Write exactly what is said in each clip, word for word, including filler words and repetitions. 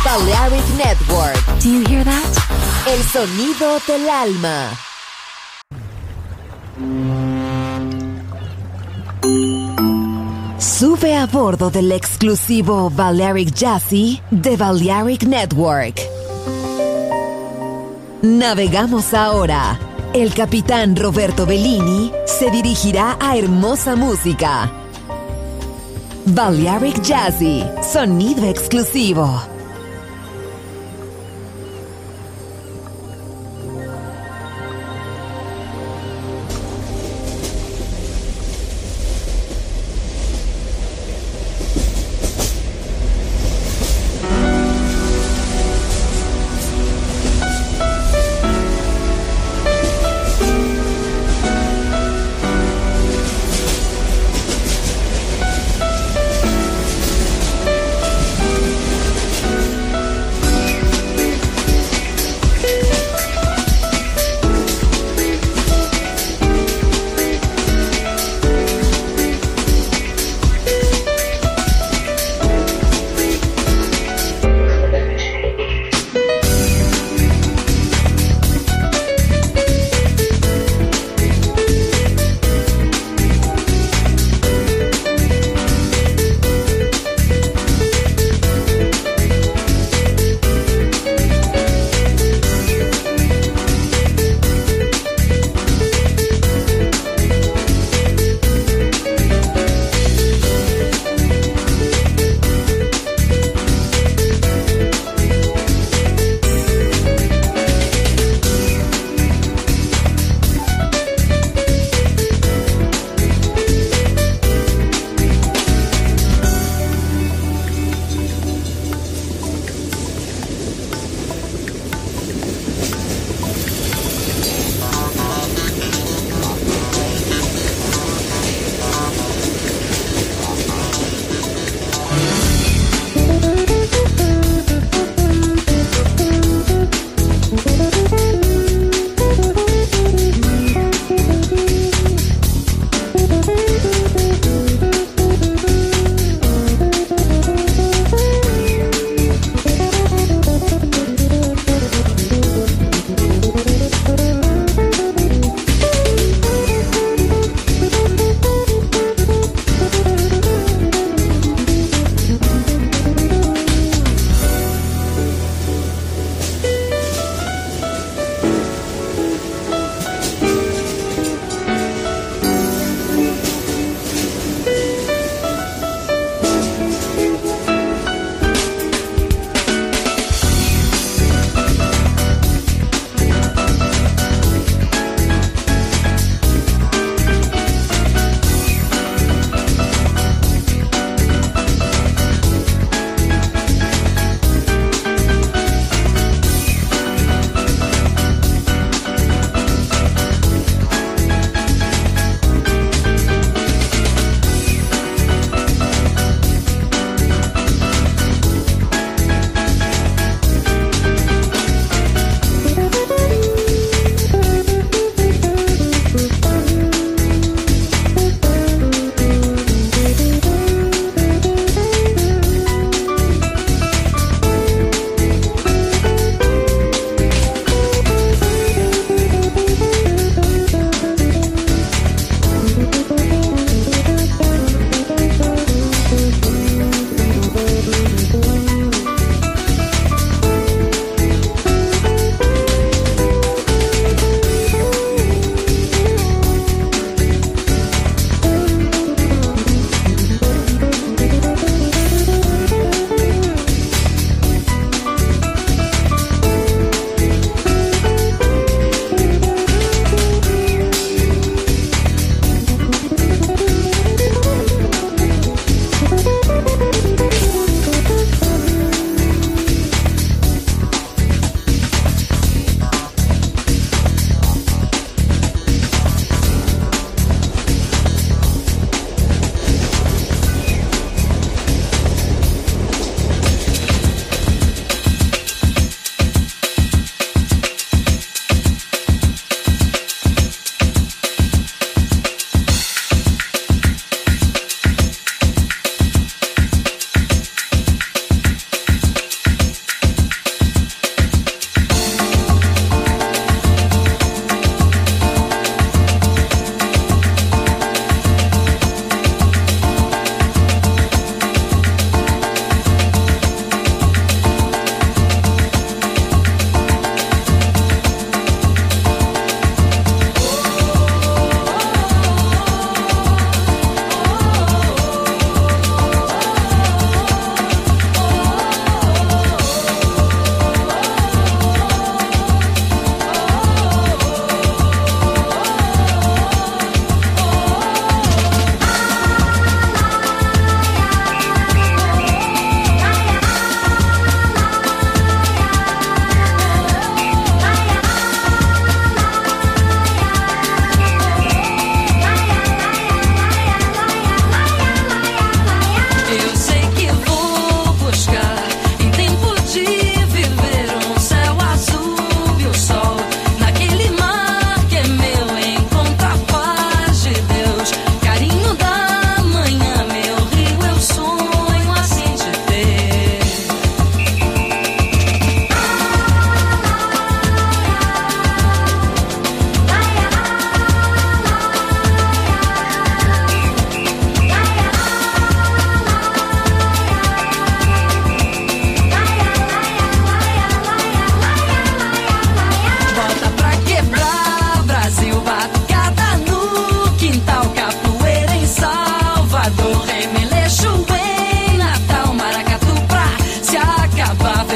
Balearic Network. Do you hear that? El sonido del alma. Sube a bordo del exclusivo Balearic Jazzy de Balearic Network. Navegamos ahora. El capitán Roberto Bellini se dirigirá a hermosa música. Balearic Jazzy, sonido exclusivo.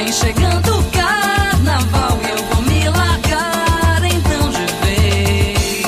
vem chegando o carnaval e eu vou me largar então de vez.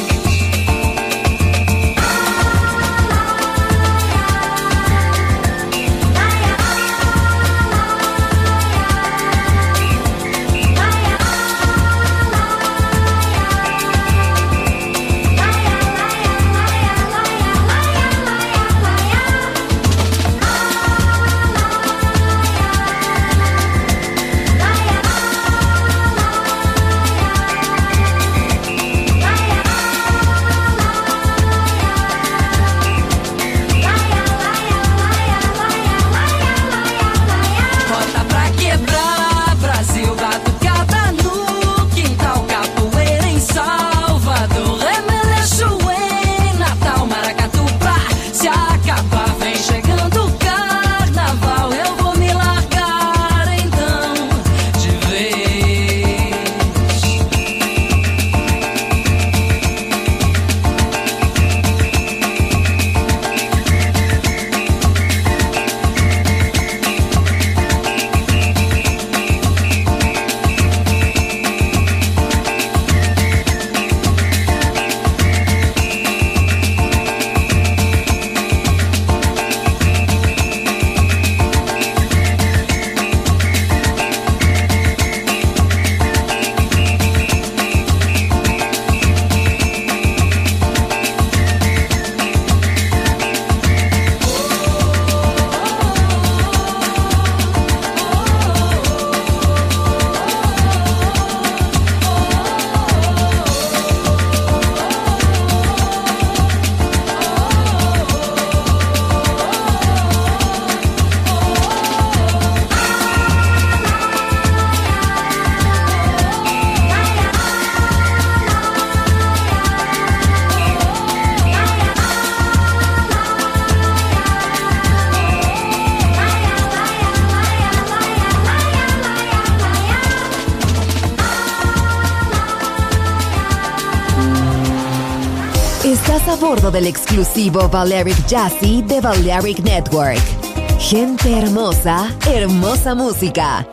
Estás a bordo del exclusivo Balearic Jazzy de Balearic Network. Gente hermosa, hermosa música.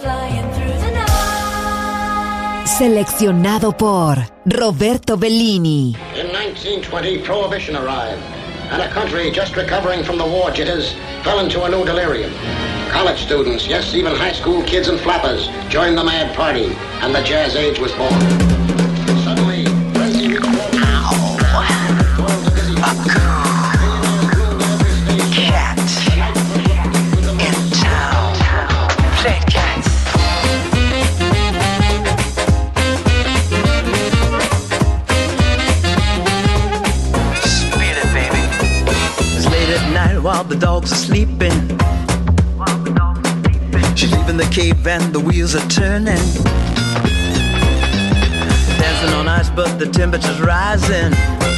Seleccionado por Roberto Bellini. In nineteen twenty, Prohibition arrived, and a country just recovering from the war jitters fell into a new delirium. College students, yes, even high school kids and flappers joined the mad party, and the jazz age was born. Suddenly, crazy reached A cool cat in town. Play cats. Speed it, baby. It's late at night while the dogs are sleeping. She's leaving the cave and the wheels are turning. Dancing on ice but the temperature's rising.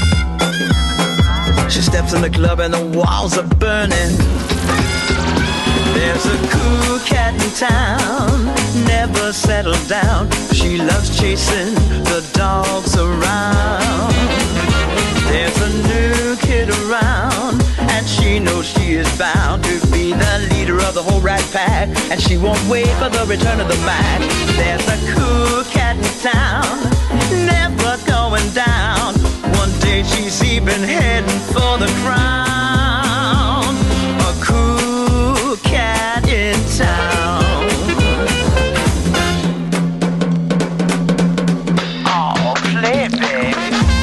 She steps in the club and the walls are burning. There's a cool cat in town, never settled down. She loves chasing the dogs around. There's a new kid around, and she knows she is bound to be the leader of the whole rat pack, and she won't wait for the return of the Mac. There's a cool cat in town, never going down. One day she's even heading for the crown. A cool cat in town. Oh, play it, baby.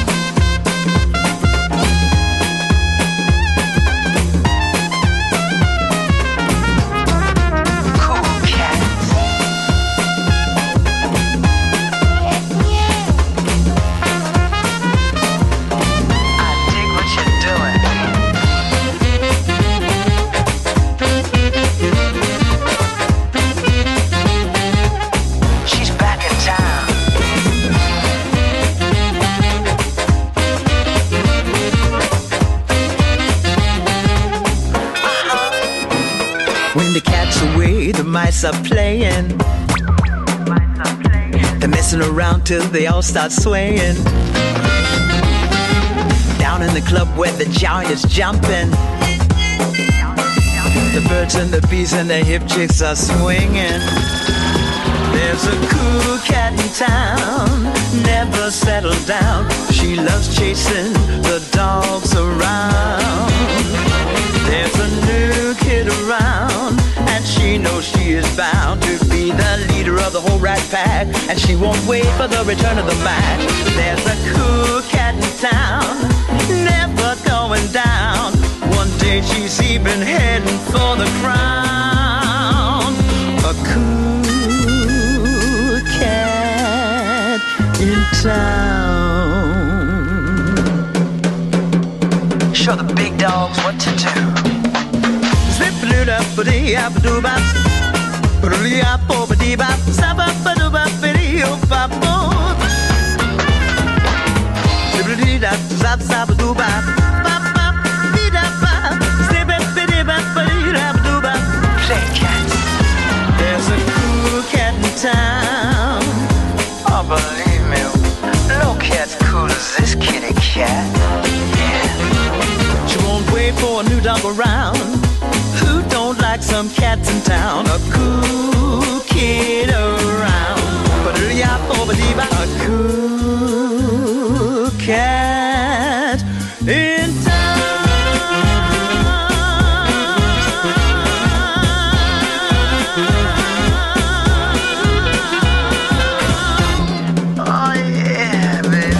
The mice are playing. They're messing around till they all start swaying. Down in the club where the giant is jumping, the birds and the bees and the hip chicks are swinging. There's a cool cat in town, never settled down. She loves chasing the dogs around. There's a new kid around, and she knows she is bound to be the leader of the whole rat pack, and she won't wait for the return of the match. There's a cool cat in town, never going down. One day she's even heading for the crown. A cool cat in town. Show the big dogs what to do. Zip-a-doo-da-ba-dee-a-ba-doo-bop, ba-doo-dee-a-bo-ba-dee-bop, zap-a-ba-doo-bop-ba-dee-oh-bop-bop, zip-a-dee-da-zap-zap-a-doo-bop, bop-bop-dee-da-bop, zip-a-dee-bop-ba-dee-da-ba-doo-bop. Play cats. There's a cool cat in town. Oh, believe me, no cat's cool as this kitty cat. She won't wait for a new dog around. Who don't like some cats in town? A cool kid around. But a cool cat in town. Oh yeah, baby.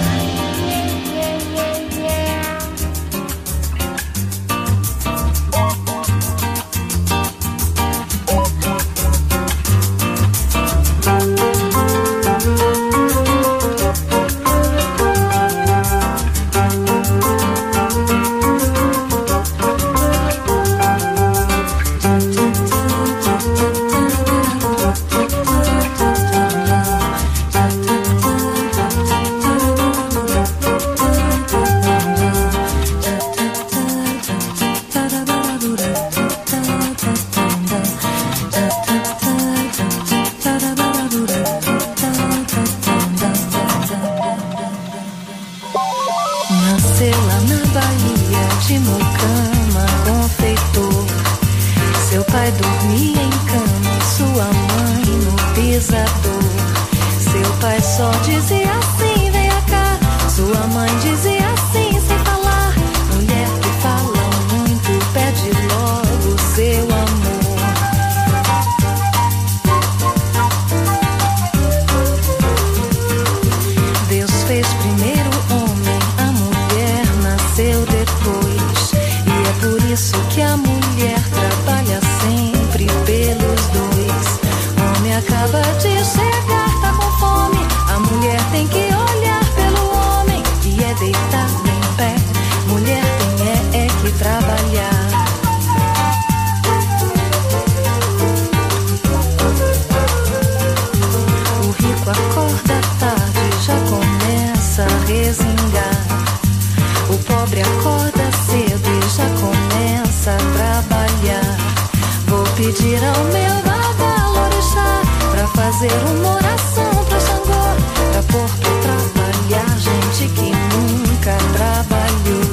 Nasceu lá na Bahia, de mucama, confeitor. Seu pai dormia em cama, sua mãe no pisador. Seu pai só dizia assim, venha cá. Sua mãe dizia assim, sem falar. Mulher que fala muito, pede logo seu amor. Deus fez primeiro o homem, a mulher nasceu depois. E é por isso que a mulher trabalha sempre pelos dois. Homem acaba de chegar, tá com fome. A mulher tem que olhar pelo homem, e é deitado em pé. Mulher tem é, é que trabalhar. O rico acorda tarde, já começa a resingar. O pobre acorda cedo e já começa a trabalhar. Vou pedir ao meu babalorixá pra fazer uma oração pra Xangô, pra pôr pra trabalhar gente que nunca trabalhou.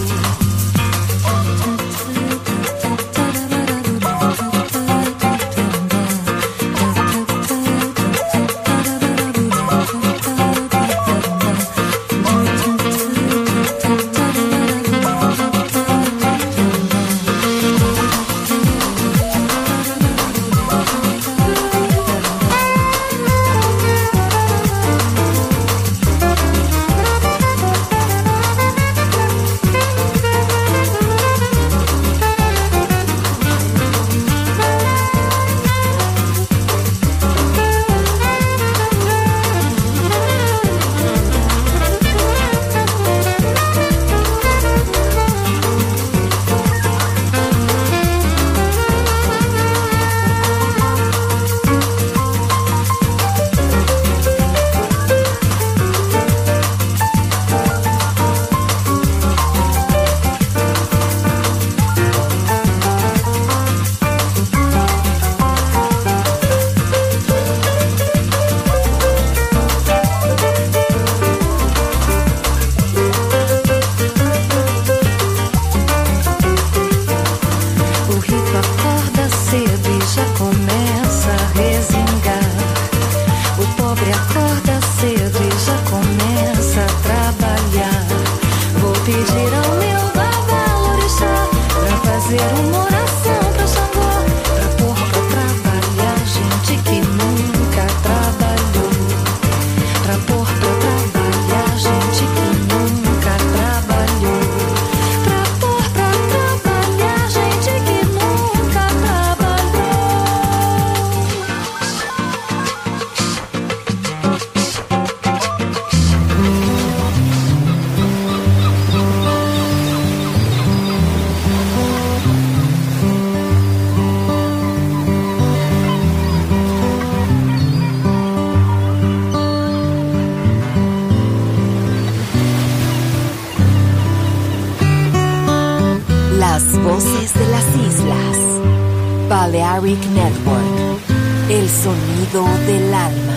Voces de las Islas. Balearic Network. El sonido del alma.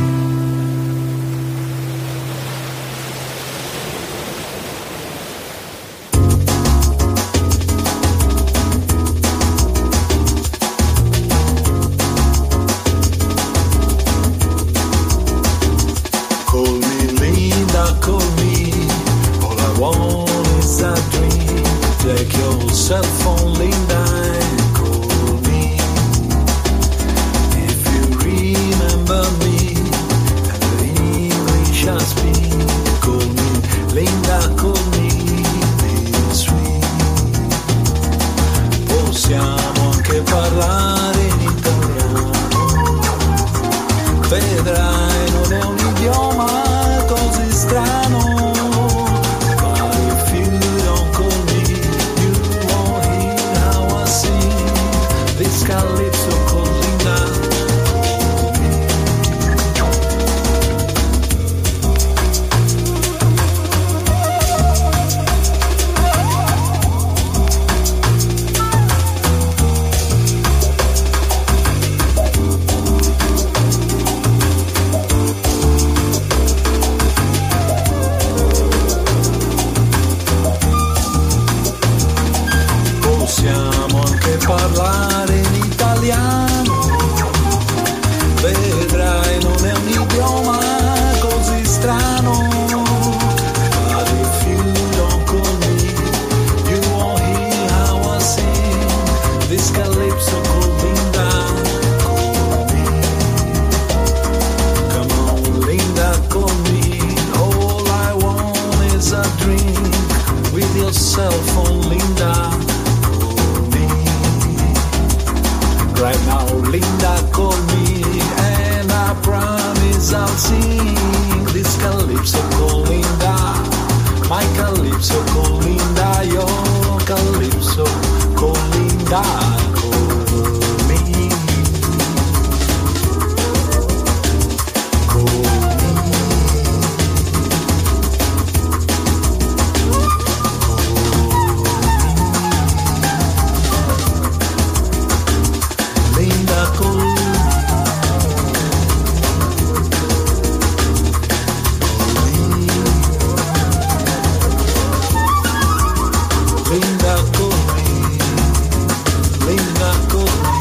Cell phone, Linda, and call me if you remember me and the English I speak. Call me Linda, call me this sweet. Possiamo anche parlare in italiano, vedrai non è un idioma così strano. Calypso con Linda. Possiamo anche parlare in italiano, vedrai non è un idioma così strano. But if you don't call me, you won't hear how I sing this calypso called Linda. Call me, come on Linda, call me. All I want is a drink with your cell phone, Linda. Right now, Linda, call me, and I promise I'll sing this calypso called Linda. My calypso called Linda, your calypso called Linda. Call me, call me. Linda, call me. Linda, call me. Linda, call me.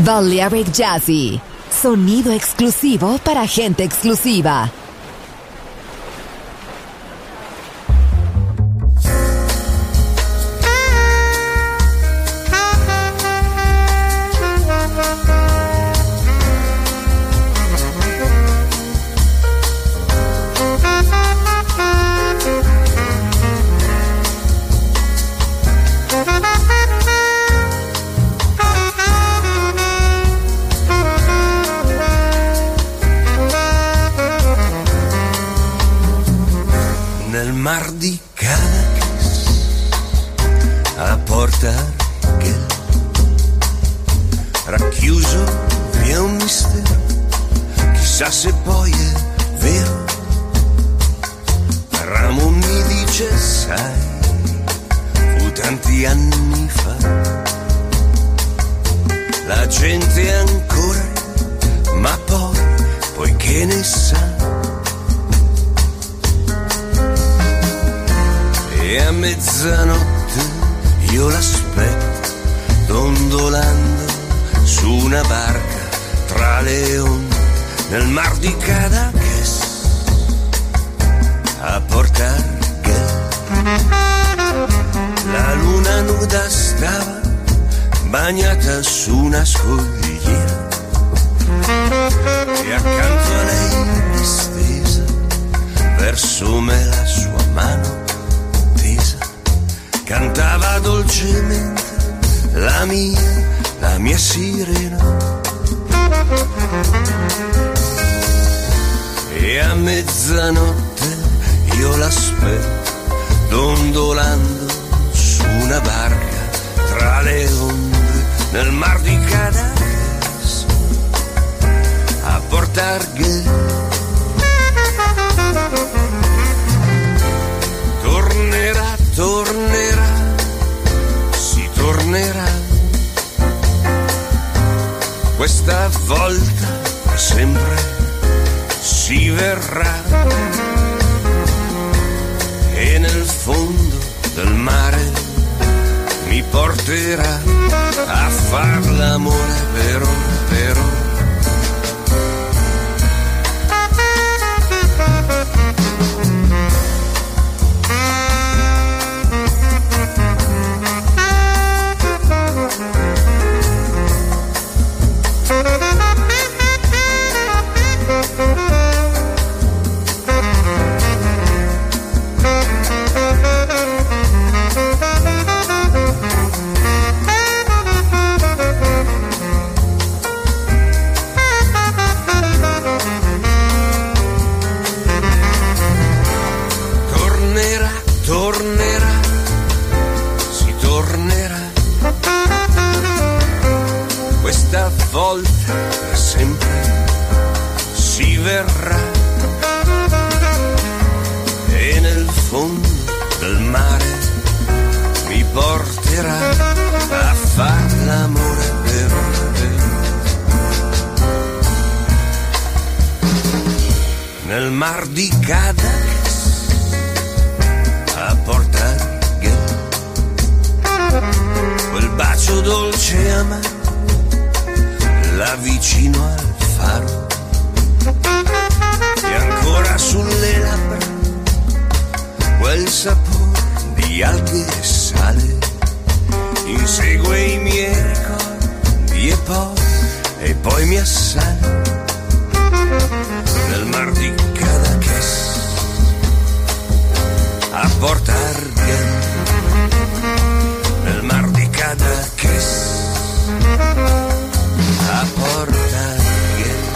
Balearic Jazzy, sonido exclusivo para gente exclusiva. Mar di Caracas a Porto Argel, racchiuso vi è un mistero, chissà se poi è vero. Ramon mi dice sai, fu tanti anni fa, la gente ancora, ma poi, poi che ne sa. E a mezzanotte io l'aspetto, dondolando su una barca tra le onde nel mar di Caracas a Porto Argel. La luna nuda stava bagnata su una scogliera e accanto a lei distesa verso me la sua mano cantava dolcemente la mia, la mia sirena. E a mezzanotte io l'aspetto, dondolando su una barca tra le onde nel mar di Caracas a Porto Argel. Tornerà, tornerà, si tornerà, questa volta sempre si verrà, e nel fondo del mare mi porterà a far l'amore per ora, per ora. Nel mar di Caracas a Porto Argel, quel bacio dolce e amaro là vicino al faro, e ancora sulle labbra quel sapore di alghe e sale, insegue i miei ricordi e poi, e poi mi assale. Nel mar di Caracas a Porto Argel, nel mar di Caracas a Porto Argel.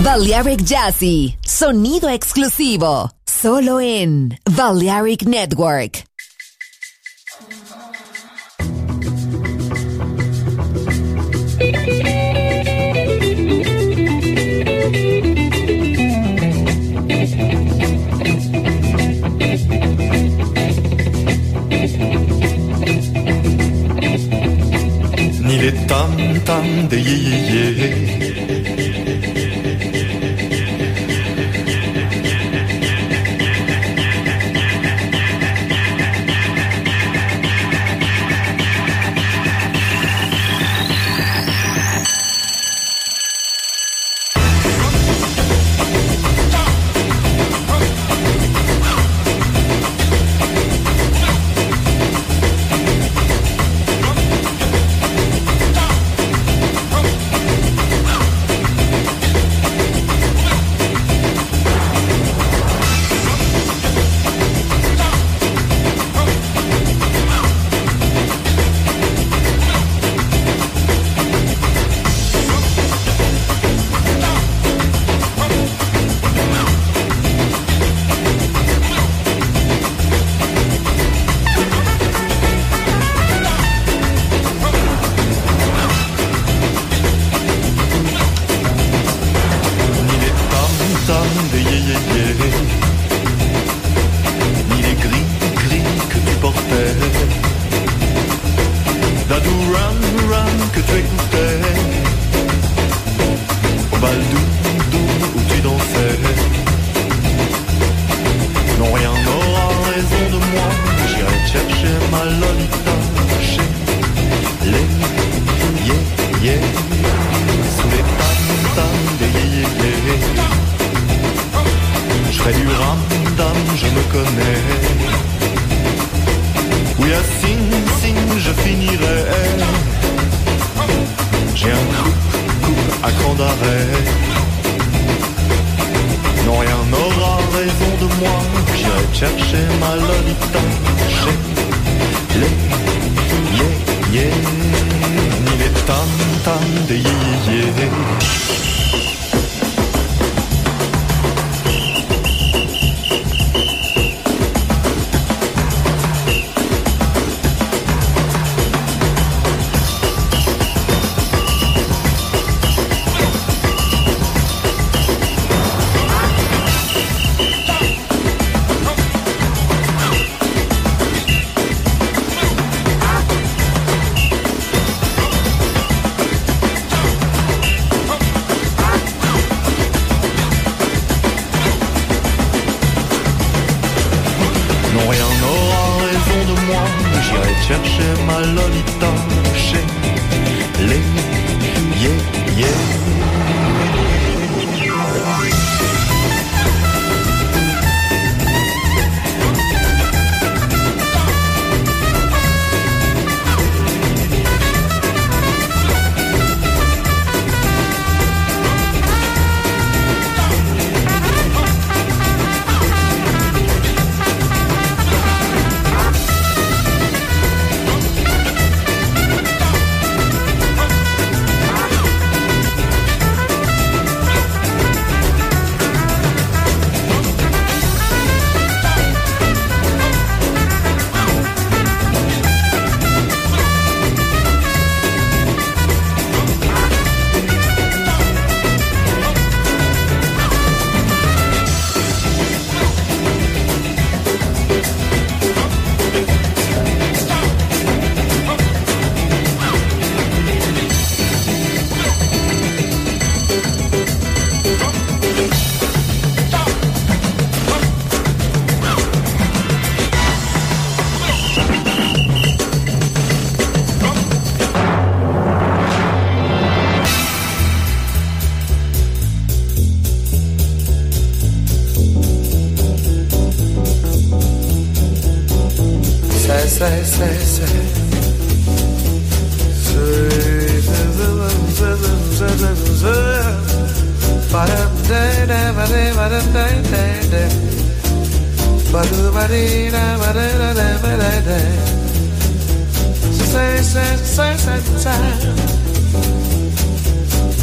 Balearic Jazzy, sonido exclusivo, solo en Balearic Network. Ni les tam-tam des yé-yé-yé,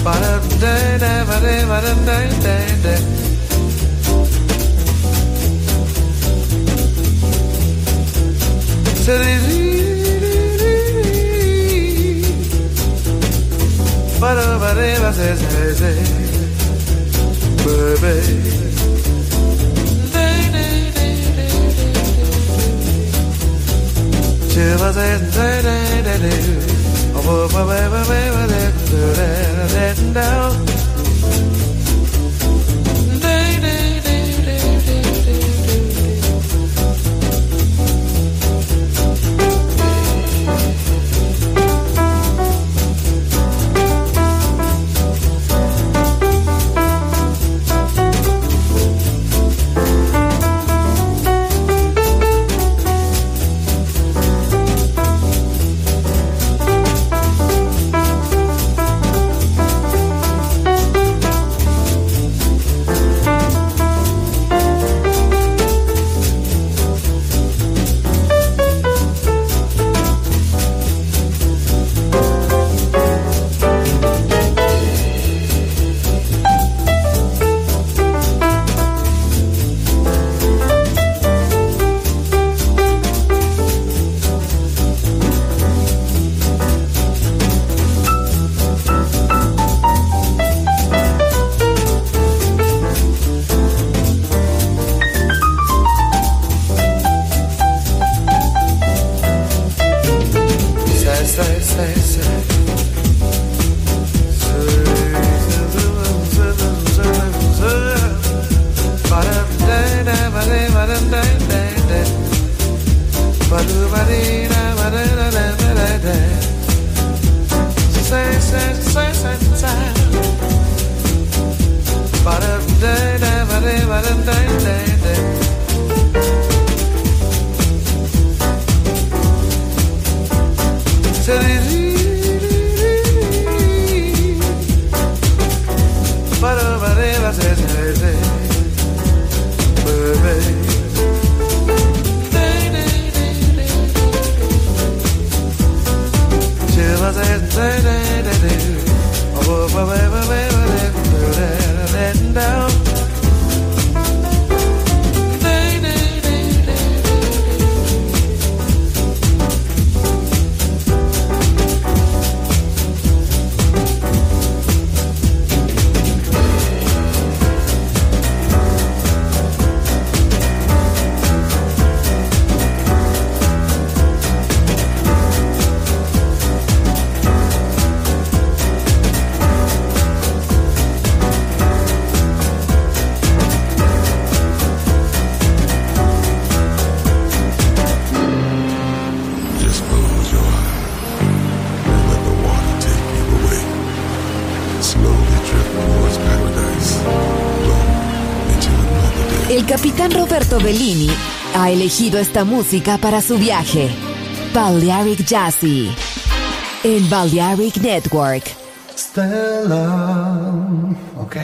El capitán Roberto Bellini ha elegido esta música para su viaje. Balearic Jazzy en Balearic Network. Stella. Ok.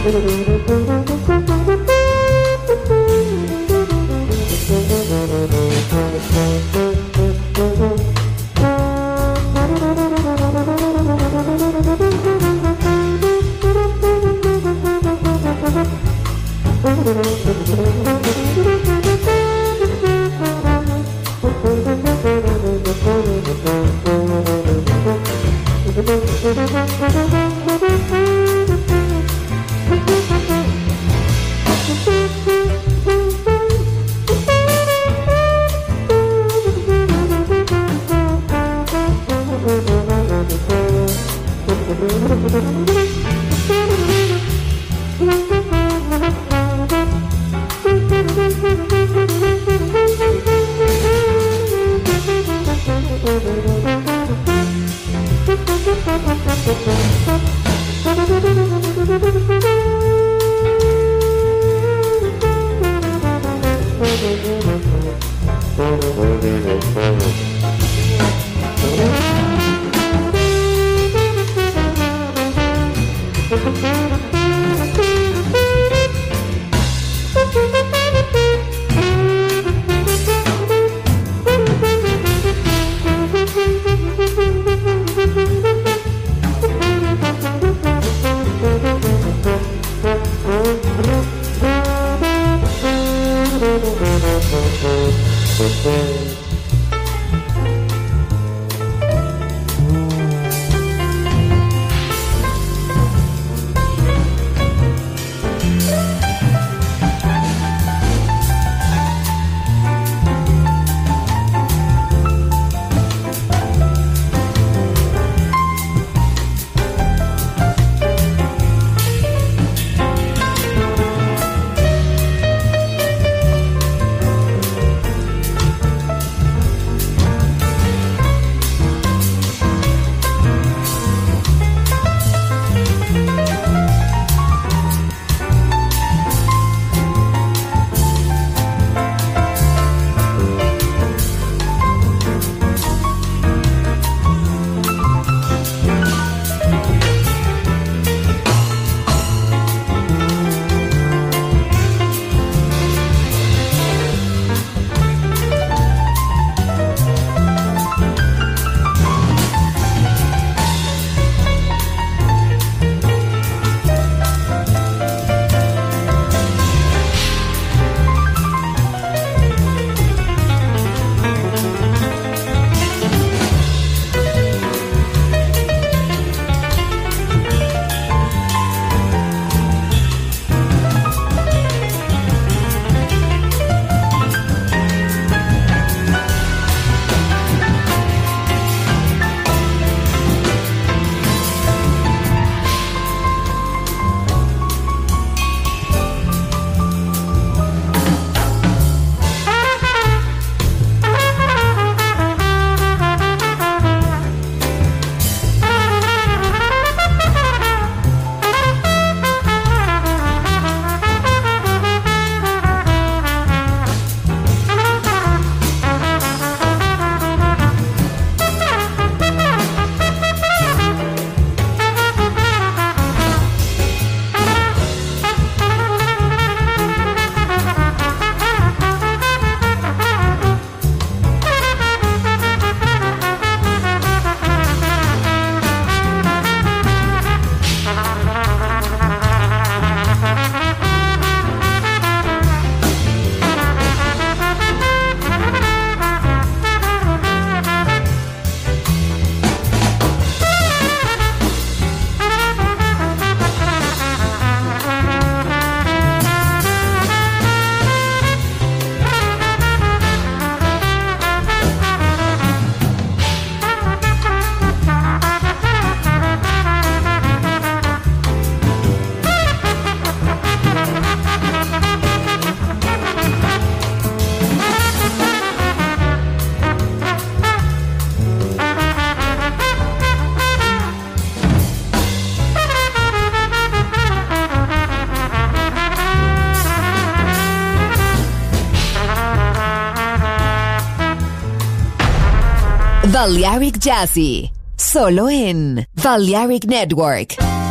Balearic Jazzy, solo en Balearic Network.